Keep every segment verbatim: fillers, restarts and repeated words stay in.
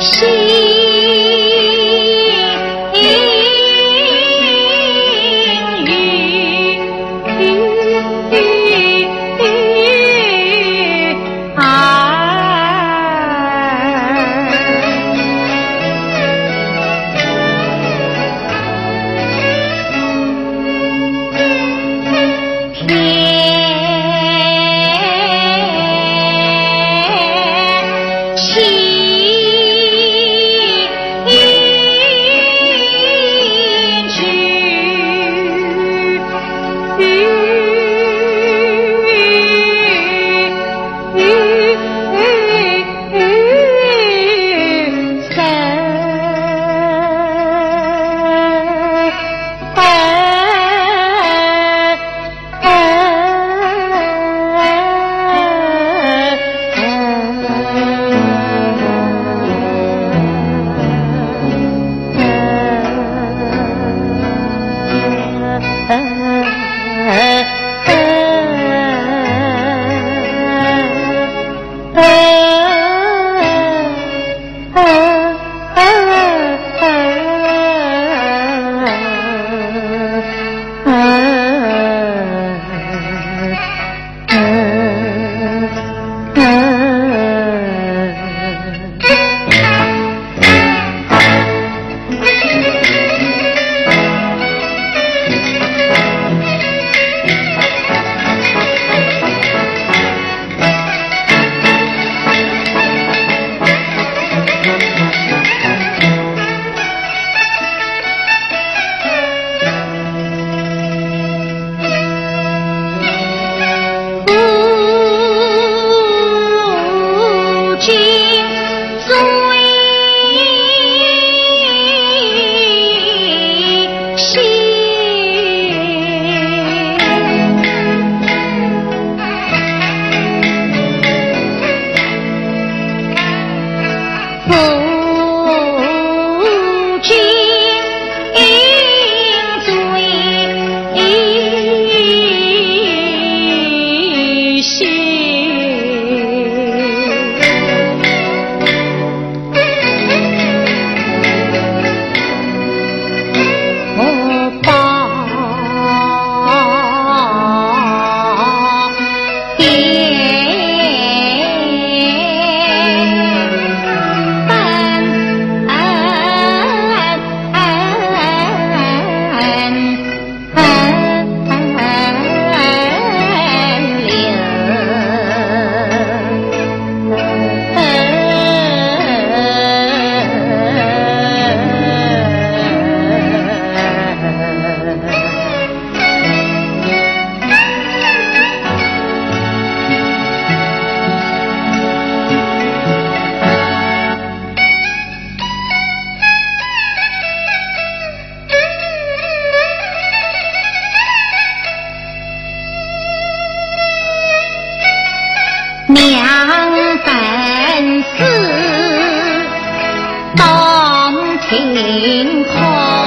晴空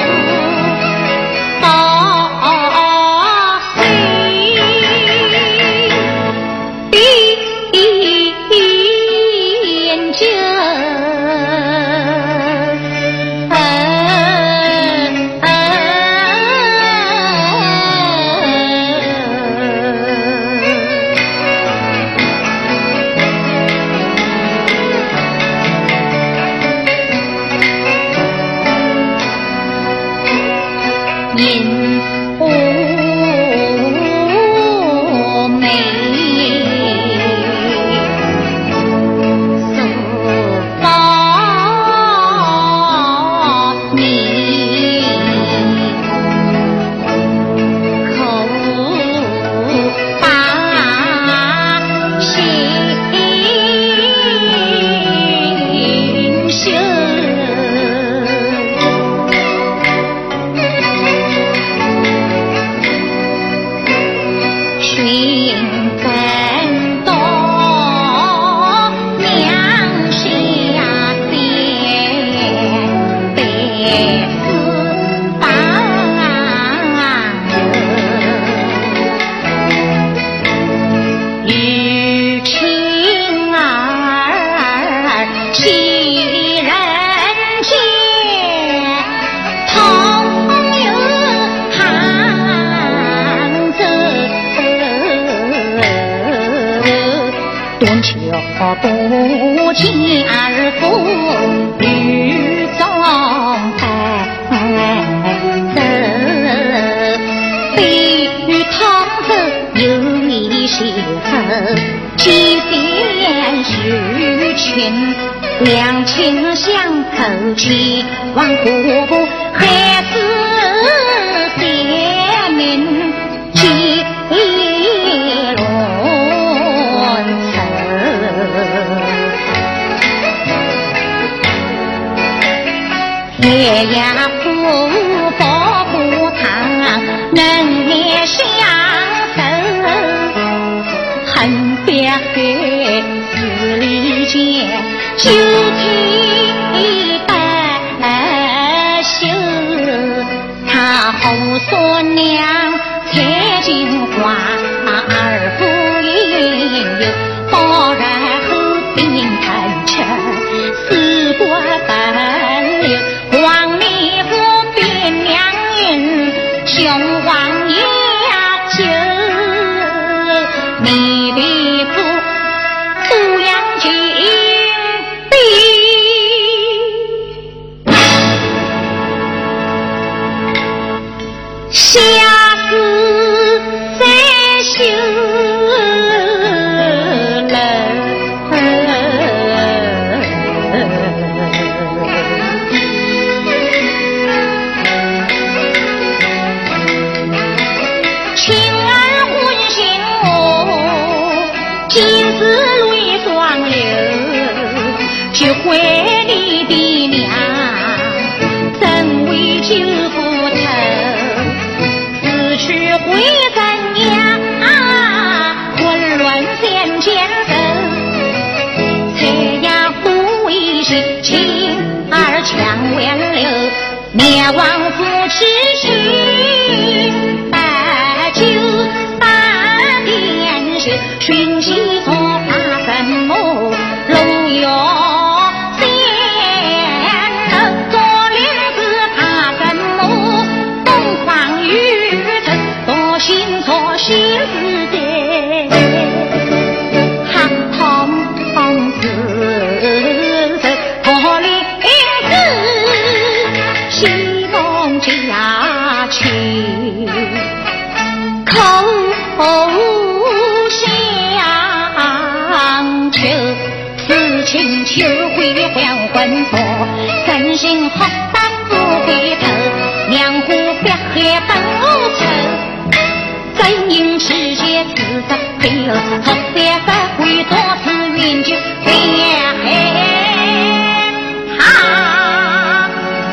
到水边就因无美诉报名，口把心修。 两情相扣起，望瀑布还是贤明几轮愁。天涯夫妇不长，能也相守，恨别海十里间，旧情不休。他后说娘采金花，二夫应有宝然后并thành车，四国奔流黄泥夫变娘人，雄王也要救你的父抚养金币，下次再修去回你的娘，怎为救不成？死去回怎娘，混乱先前手。才呀不为心，情儿强挽留，灭亡夫妻心，把酒把点血，寻机做发什么路遥。心错心思的，哈痛痛死死破林子，西风家去口相求，此情秋会还魂魄，真心好打不回头，两湖别海本无愁。真因世界自责配合，好三十回多次云就变他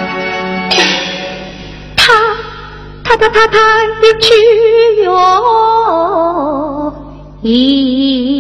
他他他他他一去哟一